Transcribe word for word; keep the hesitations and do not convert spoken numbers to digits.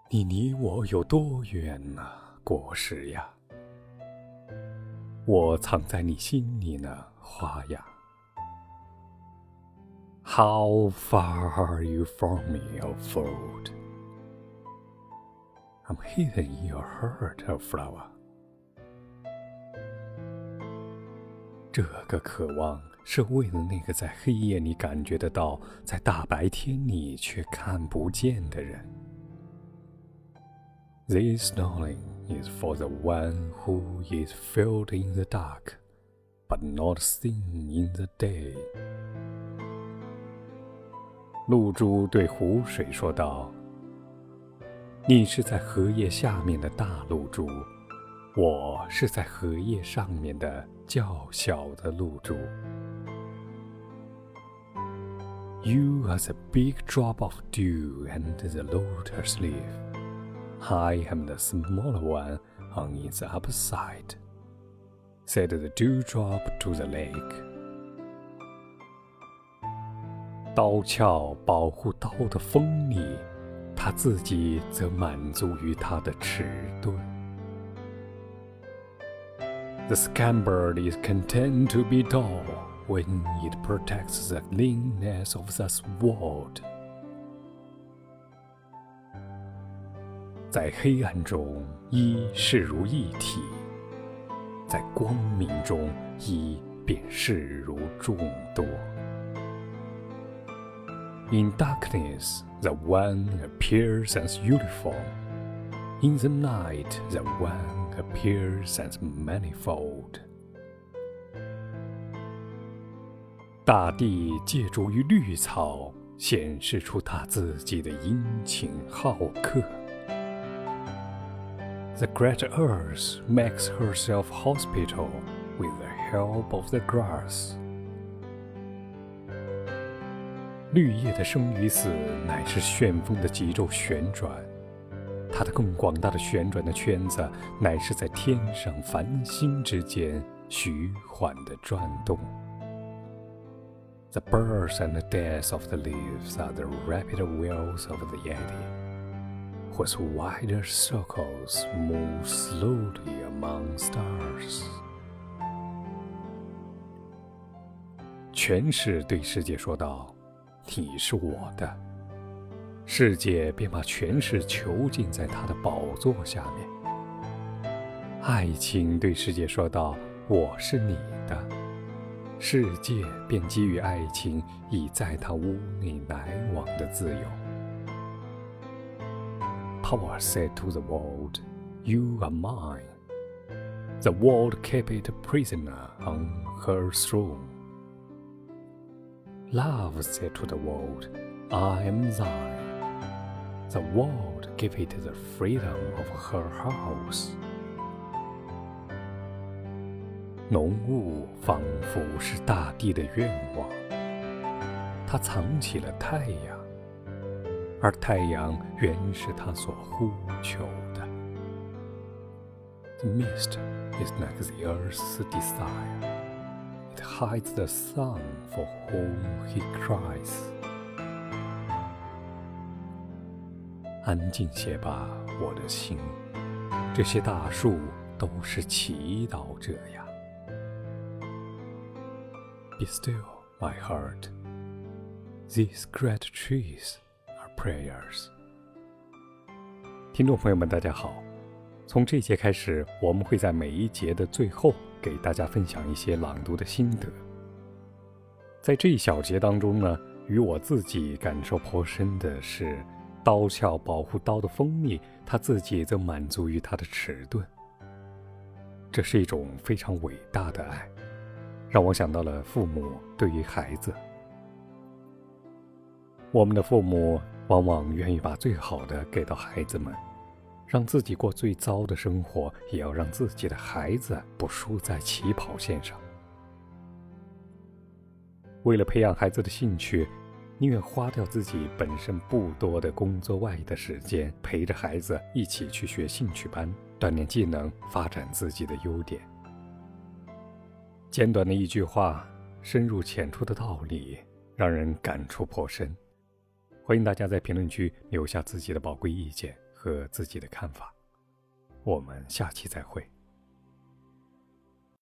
你离我有多远啊，果实呀？我藏在你心里呢，花呀。How far are you from me, O fruit? I'm hidden in your heart, O flower. 这个渴望是为了那个在黑夜里感觉得到，在大白天里却看不见的人。This longing is for the one who is filled in the dark, but not seen in the day. 露珠对湖水说道：你是在荷叶下面的大露珠，我是在荷叶上面的较小的露珠。You are the big drop of dew under the lotus leaf.I am the smaller one on its upper side, said the dewdrop to the lake. 刀鞘保护刀的锋利，他自己则满足于他的迟钝。The scabbard is content to be dull when it protects the leanness of the sword.在黑暗中，一视如一体；在光明中，一便视如众多。In darkness, the one appears as uniform. In the night, the one appears as manifold. 大地借助于绿草，显示出它自己的殷勤好客。The great earth makes herself hospitable with the help of the grass. 绿叶的生与死乃是旋风的急骤旋转，它的更广大的旋转的圈子乃是在天上繁星之间徐缓地转动。The births and the deaths of the leaves are the rapid wheels of the eddy.whose wider circles move slowly among stars. 权势对世界说道：你是我的。世界便把权势囚禁在他的宝座下面。爱情对世界说道：我是你的。世界便给予爱情以在他屋内来往的自由。Power said to the world, You are mine. The world kept it a prisoner on her throne. Love said to the world, I am thine. The world gave it the freedom of her house. 浓雾仿佛是大地的愿望，它藏起了太阳。而太阳原是他所呼求的。The mist is like the earth's desire. It hides the sun for whom he cries. 安静些吧，我的心，这些大树都是祈祷者呀。Be still, my heart. These great trees.Prayers。 听众朋友们大家好，从这节开始，我们会在每一节的最后给大家分享一些朗读的心得。在这一小节当中呢，与我自己感受颇深的是刀鞘保护刀的锋利，他自己则满足于他的迟钝。这是一种非常伟大的爱，让我想到了父母对于孩子。我们的父母往往愿意把最好的给到孩子们，让自己过最糟的生活，也要让自己的孩子不输在起跑线上。为了培养孩子的兴趣，宁愿花掉自己本身不多的工作外的时间，陪着孩子一起去学兴趣班，锻炼技能，发展自己的优点。简短的一句话，深入浅出的道理，让人感触颇深。欢迎大家在评论区留下自己的宝贵意见和自己的看法。我们下期再会。